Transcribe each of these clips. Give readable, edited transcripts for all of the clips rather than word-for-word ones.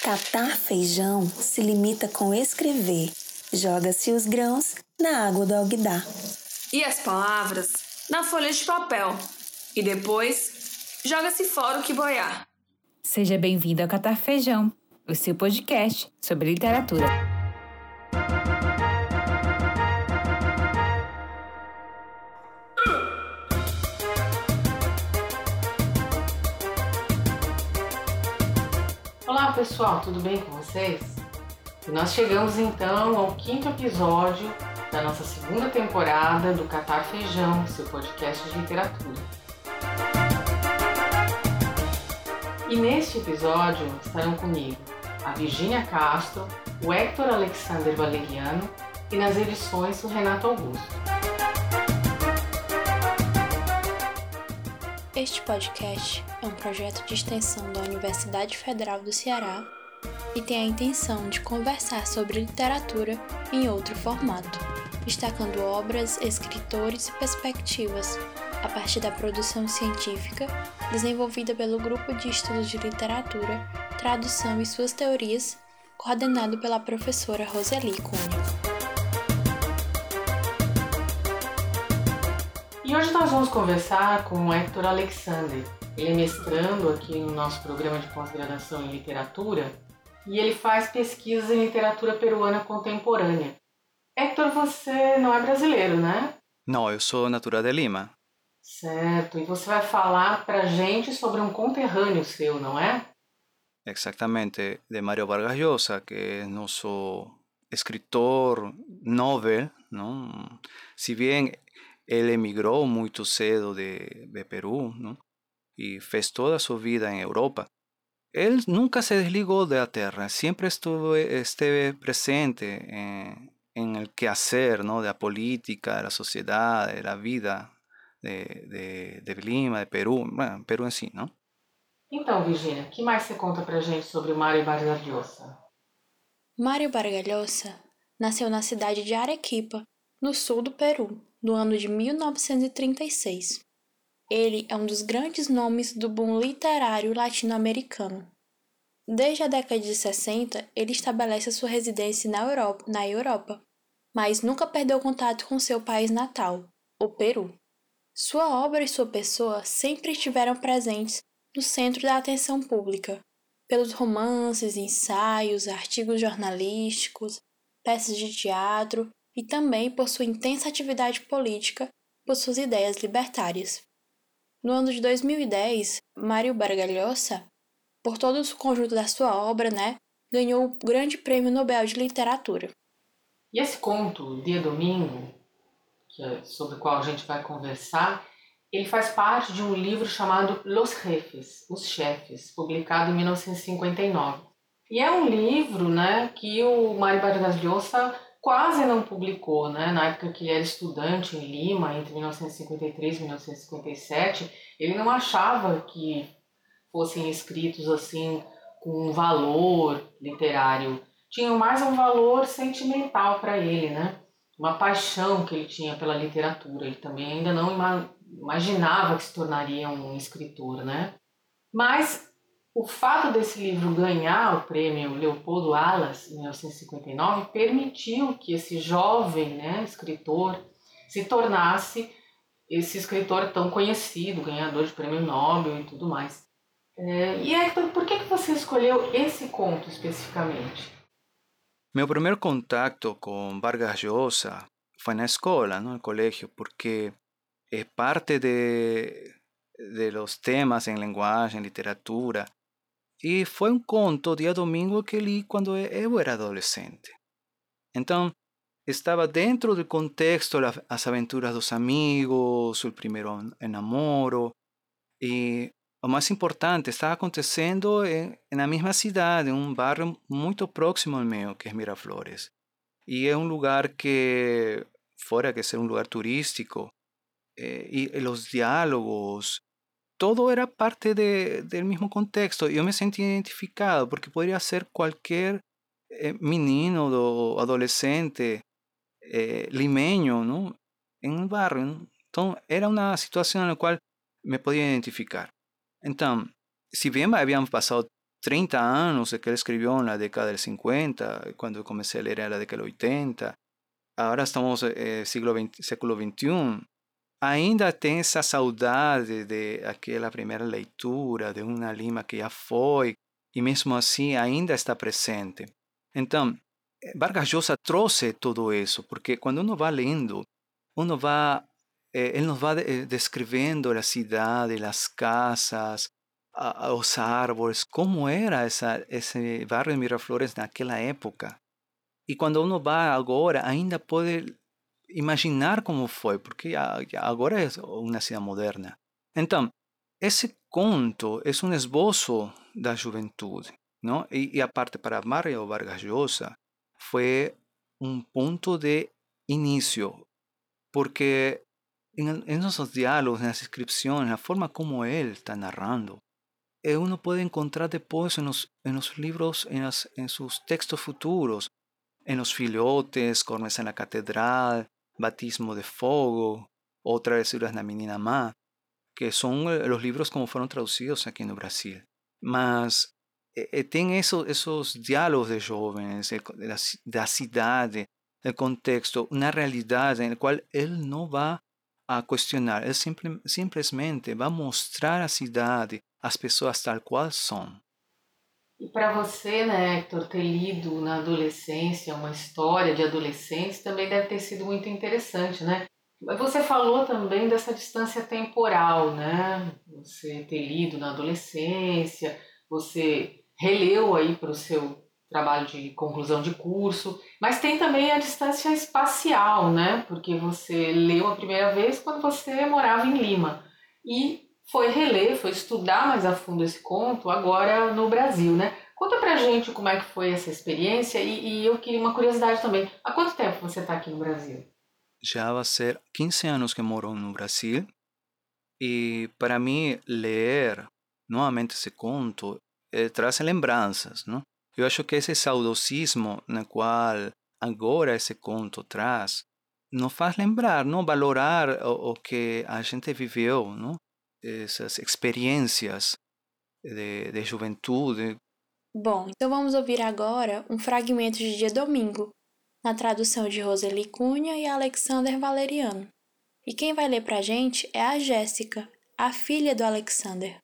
Catar feijão se limita com escrever. Joga-se os grãos na água do alguidar. E as palavras na folha de papel. E depois, joga-se fora o que boiar. Seja bem-vindo ao Catar Feijão, o seu podcast sobre literatura. Olá pessoal, tudo bem com vocês? E nós chegamos então ao 5º episódio da nossa segunda temporada do Catar Feijão, seu podcast de literatura. E neste episódio estarão comigo a Virgínia Castro, o Héctor Alexander Valeriano e nas edições o Renato Augusto. Este podcast é um projeto de extensão da Universidade Federal do Ceará e tem a intenção de conversar sobre literatura em outro formato, destacando obras, escritores e perspectivas, a partir da produção científica desenvolvida pelo Grupo de Estudos de Literatura, Tradução e suas Teorias, coordenado pela professora Roseli Cunha. E hoje nós vamos conversar com o Héctor Alexander. Ele é mestrando aqui no nosso programa de pós-graduação em literatura e ele faz pesquisas em literatura peruana contemporânea. Héctor, você não é brasileiro, né? Não, eu sou natural de Lima. Certo, e você vai falar pra gente sobre um conterrâneo seu, não é? Exactamente, de Mário Vargas Llosa, que é nosso escritor novel, não? Se bem ele emigrou muito cedo de Peru, não? E fez toda a sua vida em Europa, ele nunca se desligou da terra, sempre esteve presente en el quehacer, ¿no? De la política, de la sociedad, de la vida de Lima, de Peru, bueno, Peru em si, não? Então, Virgínia, o que mais você conta pra gente sobre o Mário Vargas Llosa? Mário Vargas Llosa nasceu na cidade de Arequipa, no sul do Peru, no ano de 1936. Ele é um dos grandes nomes do boom literário latino-americano. Desde a década de 60, ele estabelece sua residência na Europa, mas nunca perdeu contato com seu país natal, o Peru. Sua obra e sua pessoa sempre estiveram presentes no centro da atenção pública, pelos romances, ensaios, artigos jornalísticos, peças de teatro e também por sua intensa atividade política por suas ideias libertárias. No ano de 2010, Mário Vargas Llosa, por todo o conjunto da sua obra, ganhou o Grande Prêmio Nobel de Literatura. E esse conto, Dia Domingo, que é sobre o qual a gente vai conversar, ele faz parte de um livro chamado Los Jefes, Os Chefes, publicado em 1959. E é um livro, que o Mário Vargas Llosa quase não publicou, na época que ele era estudante em Lima, entre 1953 e 1957, ele não achava que fossem escritos assim com um valor literário. Tinham mais um valor sentimental para ele, uma paixão que ele tinha pela literatura. Ele também ainda não imaginava que se tornaria um escritor, Mas o fato desse livro ganhar o prêmio Leopoldo Alas, em 1959, permitiu que esse jovem escritor se tornasse esse escritor tão conhecido, ganhador de prêmio Nobel e tudo mais. E Héctor, por que você escolheu esse conto especificamente? Meu primeiro contato com Vargas Llosa foi na escola, no colégio, porque é parte de los temas em linguagem, literatura. E foi um conto, Dia Domingo, que li quando eu era adolescente. Então, estava dentro do contexto das aventuras dos amigos, o primeiro namoro. E o mais importante, estava acontecendo na mesma cidade, em um bairro muito próximo ao meu, que é Miraflores. E é um lugar que, fora que ser um lugar turístico, e os diálogos, todo era parte del mismo contexto. Yo me sentí identificado porque podría ser cualquier menino o adolescente limeño, ¿no? En un barrio, ¿no? Entonces era una situación en la cual me podía identificar. Entonces, si bien habían pasado 30 anos que ele escreveu na década del 50, quando eu comecei a ler era década del 80, agora estamos século XXI, ainda tem essa saudade de aquela primeira leitura, de uma Lima que já foi, e mesmo assim ainda está presente. Então, Vargas Llosa trouxe tudo isso, porque quando uno vai lendo, ele nos vai descrevendo a cidade, as casas, os árvores, como era esse bairro de Miraflores naquela época. E quando uno vai agora, ainda pode imaginar como foi, porque agora é uma cidade moderna. Então, esse conto é um esboço da juventude, não? E a parte para Mario Vargas Llosa foi um ponto de início, porque em nossos diálogos, nas descrições, na forma como ele está narrando, uno pode encontrar depois en los libros, en sus textos futuros, en los filhotes, Cormes en la Catedral, Batismo de Fogo, ou Travesuras na Menina Má, que são os livros como foram traduzidos aqui no Brasil. Mas tem esses diálogos de jovens, da cidade, do contexto, uma realidade na qual ele não vai a questionar, ele simplesmente vai mostrar a cidade, as pessoas tal qual são. E para você, né, Hector, ter lido na adolescência uma história de adolescentes também deve ter sido muito interessante, né? Você falou também dessa distância temporal, né? Você ter lido na adolescência, você releu aí para o seu trabalho de conclusão de curso, mas tem também a distância espacial, né? Porque você leu a primeira vez quando você morava em Lima e foi reler, foi estudar mais a fundo esse conto agora no Brasil, né? Conta pra gente como é que foi essa experiência e eu queria uma curiosidade também. Há quanto tempo você está aqui no Brasil? Já vai ser 15 anos que moro no Brasil e para mim ler novamente esse conto traz lembranças, não? Eu acho que esse saudosismo na qual agora esse conto traz nos faz lembrar, não valorar o que a gente viveu, não? Essas experiências de juventude. Bom, então vamos ouvir agora um fragmento de Dia Domingo, na tradução de Roseli Cunha e Alexander Valeriano. E quem vai ler pra gente é a Jéssica, a filha do Alexander.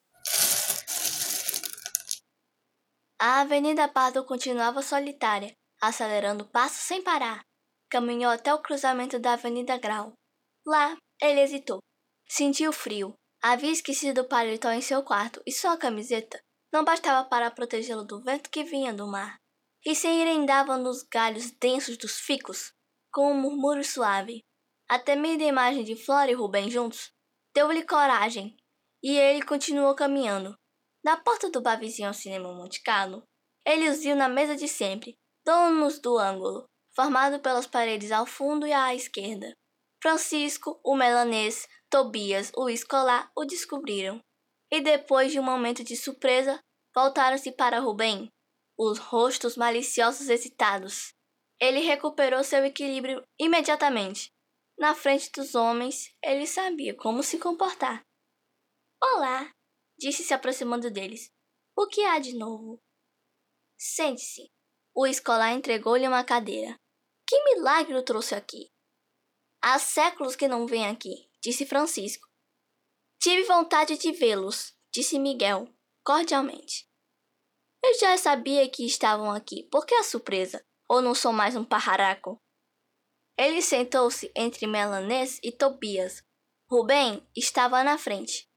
A Avenida Pardo continuava solitária, acelerando o passo sem parar. Caminhou até o cruzamento da Avenida Grau. Lá, ele hesitou. Sentiu frio. Havia esquecido o paletó em seu quarto e só a camiseta não bastava para protegê-lo do vento que vinha do mar. E se enrendava nos galhos densos dos ficus, com um murmúrio suave. A temida imagem de Flora e Rubem juntos deu-lhe coragem, e ele continuou caminhando. Na porta do bar vizinho ao cinema Monte Carlo, ele os viu na mesa de sempre, donos do ângulo, formado pelas paredes ao fundo e à esquerda. Francisco, o melanês, Tobias, o escolar, o descobriram. E depois de um momento de surpresa, voltaram-se para Rubem, os rostos maliciosos excitados. Ele recuperou seu equilíbrio imediatamente. Na frente dos homens, ele sabia como se comportar. Olá, disse se aproximando deles. O que há de novo? Sente-se. O escolar entregou-lhe uma cadeira. Que milagre o trouxe aqui? Há séculos que não vem aqui, disse Francisco. Tive vontade de vê-los, disse Miguel, cordialmente. Eu já sabia que estavam aqui. Por que a surpresa? Ou não sou mais um pajarraco? Ele sentou-se entre Melanês e Tobias. Rubem estava na frente.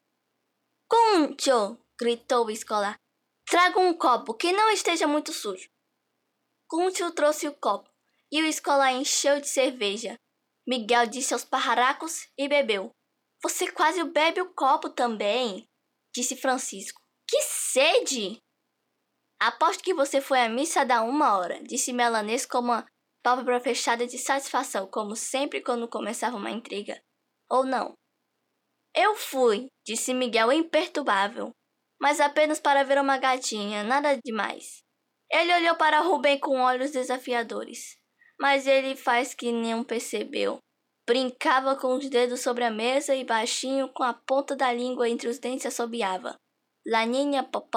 Cuncho! Gritou o escolar. Traga um copo que não esteja muito sujo. Cuncho trouxe o copo e o escolar encheu de cerveja. Miguel disse aos pajarracos e bebeu. Você quase bebe o copo também, disse Francisco. Que sede! Aposto que você foi à missa da 1 hora, disse Melanês com uma pálpebra fechada de satisfação, como sempre quando começava uma intriga. Ou não? Eu fui, disse Miguel imperturbável, mas apenas para ver uma gatinha, nada demais. Ele olhou para Rubem com olhos desafiadores, mas ele faz que não percebeu. Brincava com os dedos sobre a mesa e baixinho, com a ponta da língua entre os dentes, assobiava. La Niña Popov,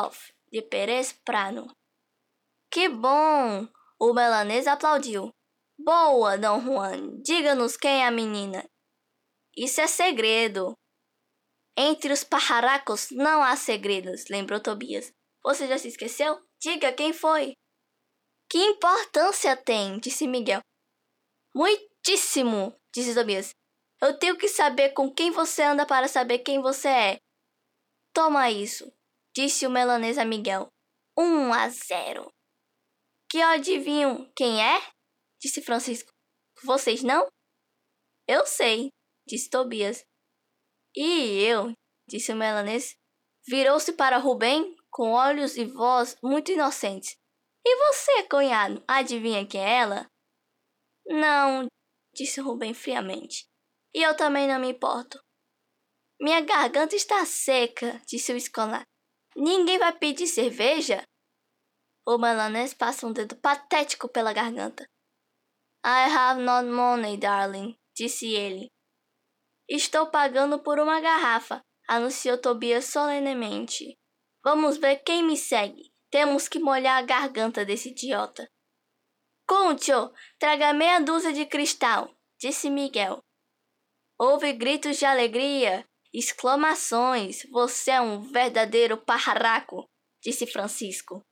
de Pérez Prado. Que bom! O melanês aplaudiu. Boa, Dom Juan, diga-nos quem é a menina. Isso é segredo. Entre os pajarracos não há segredos, lembrou Tobias. Você já se esqueceu? Diga quem foi. Que importância tem? Disse Miguel. Muitíssimo, disse Tobias. Eu tenho que saber com quem você anda para saber quem você é. Toma isso, disse o melanês a Miguel. 1-0. Que eu adivinho quem é? Disse Francisco. Vocês não? Eu sei, disse Tobias. E eu, disse o melanês, virou-se para Rubem com olhos e voz muito inocentes. E você, cunhado, adivinha quem é ela? Não, disse Rubem friamente. E eu também não me importo. Minha garganta está seca, disse o escolar. Ninguém vai pedir cerveja? O melanês passa um dedo patético pela garganta. I have not money, darling, disse ele. Estou pagando por uma garrafa, anunciou Tobias solenemente. Vamos ver quem me segue. Temos que molhar a garganta desse idiota. Concho, traga meia dúzia de cristal, disse Miguel. Houve gritos de alegria, exclamações. Você é um verdadeiro pajarraco, disse Francisco.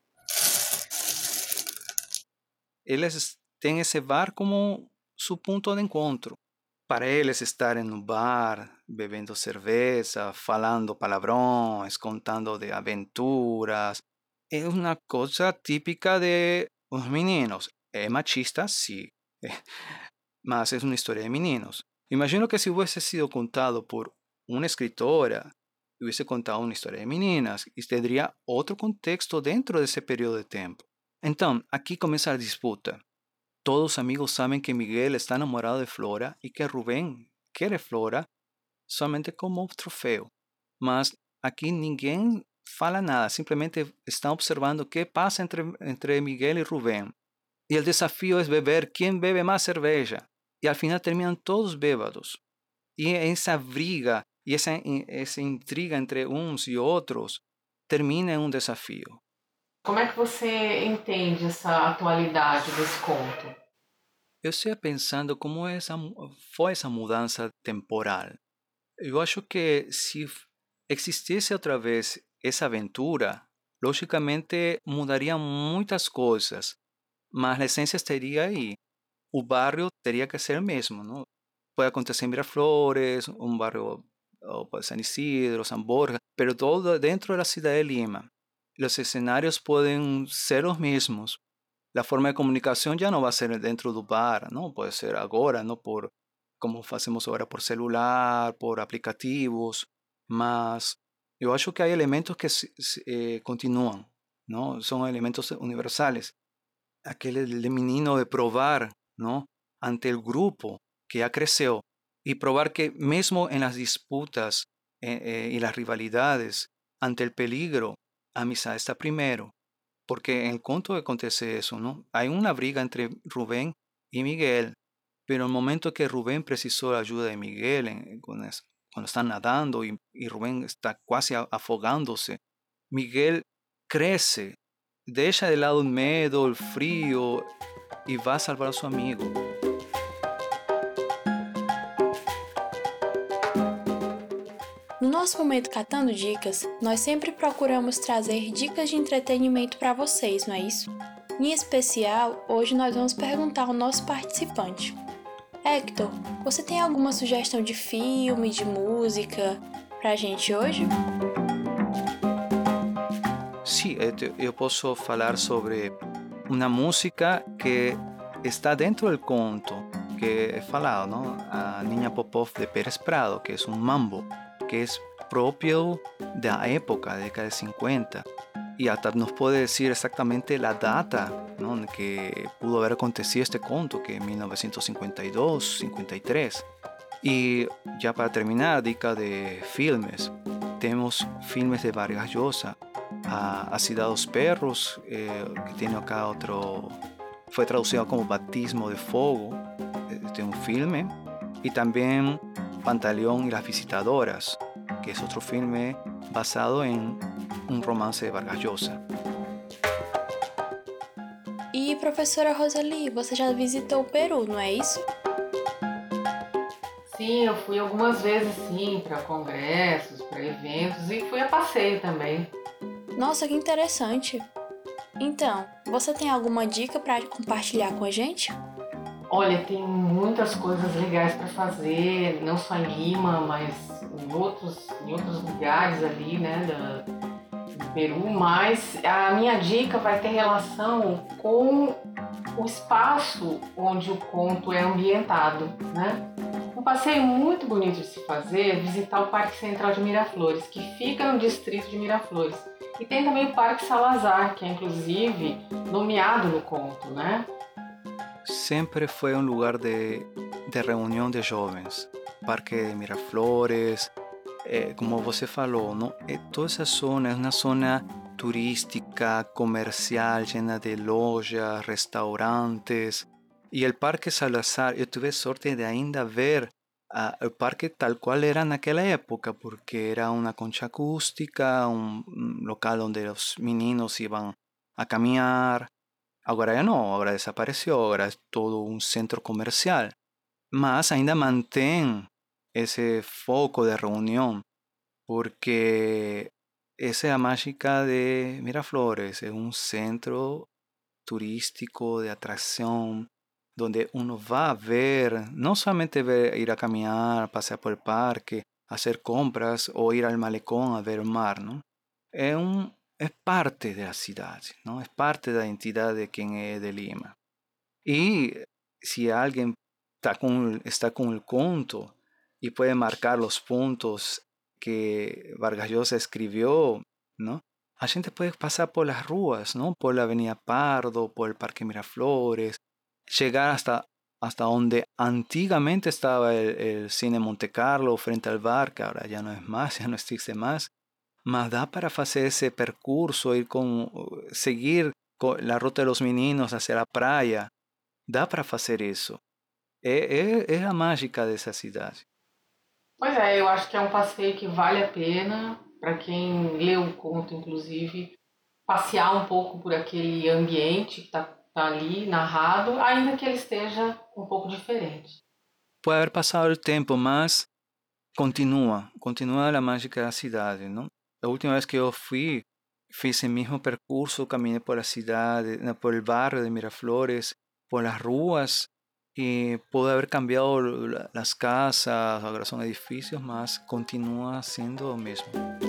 Eles têm esse bar como su ponto de encontro. Para eles estarem no bar, bebendo cerveja, falando palavrões, contando de aventuras, é uma coisa típica de os meninos. É machista, sim, mas é uma história de meninos. Imagino que se hubiese sido contado por una escritora, hubiese contado una historia de meninas y tendría otro contexto dentro de ese periodo de tiempo. Entonces, aquí comienza la disputa. Todos los amigos saben que Miguel está enamorado de Flora y que Rubén quiere Flora solamente como trofeo. Mas aquí ninguém fala nada, simplemente están observando qué pasa entre Miguel y Rubén. Y el desafío es beber quién bebe más cerveza. Y al final terminan todos bêbados. Y esa briga y esa intriga entre uns e outros termina em um desafio. Como é que você entende essa atualidade desse conto? Eu estou pensando como foi essa mudança temporal. Eu acho que se existisse outra vez essa aventura, logicamente mudaria muitas coisas, mas a essência estaria aí. O barrio teria que ser o mesmo, não? Pode acontecer em Miraflores, um barrio San Isidro, San Borja, pero todo dentro da cidade de Lima. Os escenarios podem ser os mesmos. A forma de comunicação já não vai ser dentro do bar, não pode ser agora, não por como fazemos agora por celular, por aplicativos, mas eu acho que há elementos que continuam, não? São elementos universais. Aquele de menino de provar, não? Ante o grupo que já cresceu e provar que mesmo em las disputas e las rivalidades, ante o peligro, a amizade está primeiro. Porque en el conto acontece eso, ¿no? Hay una briga entre Rubén y Miguel, pero en el momento que Rubén precisó la ayuda de Miguel, cuando están nadando y Rubén está casi afogándose, Miguel crece, deja de lado el miedo, el frío y va a salvar a su amigo. No nosso momento Catando Dicas, nós sempre procuramos trazer dicas de entretenimento para vocês, não é isso? Em especial, hoje nós vamos perguntar ao nosso participante. Hector, você tem alguma sugestão de filme, de música pra gente hoje? Sim, eu posso falar sobre uma música que está dentro do conto, que é falado, ¿no? A Niña Popov de Pérez Prado, que é um mambo, que es propio de la época, de década de 50, y hasta nos puede decir exactamente la data, ¿no?, en que pudo haber acontecido este conto, que es 1952, 53. Y ya para terminar, dica de filmes. Tenemos filmes de Vargas Llosa, Así da dos perros, que tiene acá otro, fue traducido como Batismo de Fuego, este es un filme, y también Pantaleón y las visitadoras, que es otro filme basado en un romance de Vargas Llosa. E, professora Rosalie, você já visitou o Peru, não é isso? Sim, eu fui algumas vezes, sim, para congressos, para eventos e fui a passeio também. Nossa, que interessante! Então, você tem alguma dica para compartilhar com a gente? Olha, tem muitas coisas legais para fazer, não só em Lima, mas em outros lugares ali, né, do Peru. Mas a minha dica vai ter relação com o espaço onde o conto é ambientado, né? Um passeio muito bonito de se fazer é visitar o Parque Central de Miraflores, que fica no distrito de Miraflores. E tem também o Parque Salazar, que é inclusive nomeado no conto, né? Sempre foi um lugar de reunião de jovens. Parque de Miraflores, como você falou, não? Toda essa zona é uma zona turística, comercial, llena de lojas, restaurantes. E o Parque Salazar, eu tive sorte de ainda ver o parque tal qual era naquela época, porque era uma concha acústica, um local onde os meninos iam a caminhar. Agora já não, agora desapareceu, agora é todo um centro comercial. Mas ainda mantém esse foco de reunião, porque essa é a mágica de Miraflores, é um centro turístico de atração, donde uno va a ver, no solamente ver, ir a caminar, pasear por el parque, hacer compras o ir al malecón a ver el mar, ¿no? Es parte de la ciudad, ¿no? Es parte de la identidad de quien es de Lima. Y si alguien está con el conto y puede marcar los puntos que Vargas Llosa escribió, ¿no? A gente puede pasar por las ruas, ¿no? Por la Avenida Pardo, por el Parque Miraflores, llegar hasta donde antiguamente estaba el Cine Monte Carlo frente al bar, que ahora ya no es más, ya no existe más. Mas dá para fazer esse percurso, seguir la ruta de los meninos hacia la praia. Dá para fazer isso. É a mágica dessa cidade. Pois é, eu acho que é um passeio que vale a pena para quem leu o conto, inclusive, passear um pouco por aquele ambiente que está ali narrado, ainda que ele esteja um pouco diferente. Pode haver passado o tempo, mas continua a mágica da cidade, não? A última vez que eu fui, fiz o mesmo percurso, caminhei por a cidade, por el barrio de Miraflores, por las ruas, e pode haver cambiado as casas, agora são edifícios, mas continua sendo o mesmo.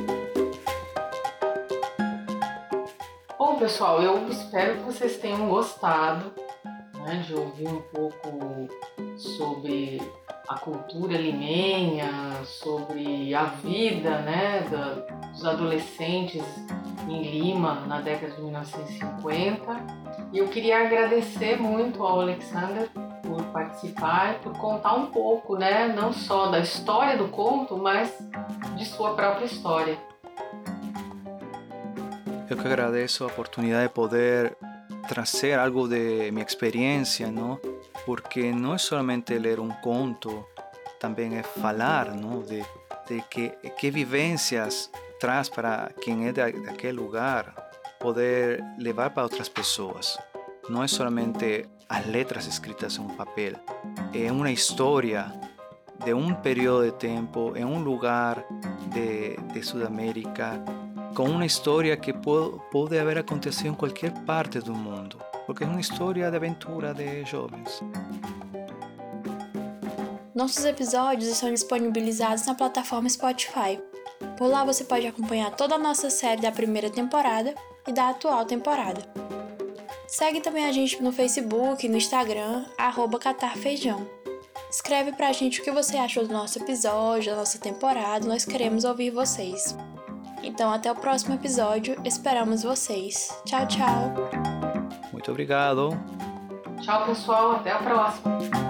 Bom, pessoal, eu espero que vocês tenham gostado, né, de ouvir um pouco sobre a cultura limenha, sobre a vida, né, dos adolescentes em Lima na década de 1950. E eu queria agradecer muito ao Alexander por participar e por contar um pouco, né, não só da história do conto, mas de sua própria história. Eu que agradeço a oportunidade de poder trazer algo de minha experiência, não? Porque não é somente ler um conto, também é falar, não? De que vivências traz para quem é daquele lugar, poder levar para outras pessoas. Não é somente as letras escritas em um papel, é uma história de um período de tempo, em um lugar de Sudamérica, com uma história que pode haver acontecido em qualquer parte do mundo, porque é uma história de aventura de jovens. Nossos episódios estão disponibilizados na plataforma Spotify. Por lá você pode acompanhar toda a nossa série da primeira temporada e da atual temporada. Segue também a gente no Facebook e no Instagram, @catarfeijão. Escreve pra gente o que você achou do nosso episódio, da nossa temporada, nós queremos ouvir vocês. Então até o próximo episódio, esperamos vocês. Tchau, tchau! Muito obrigado! Tchau, pessoal, até a próxima!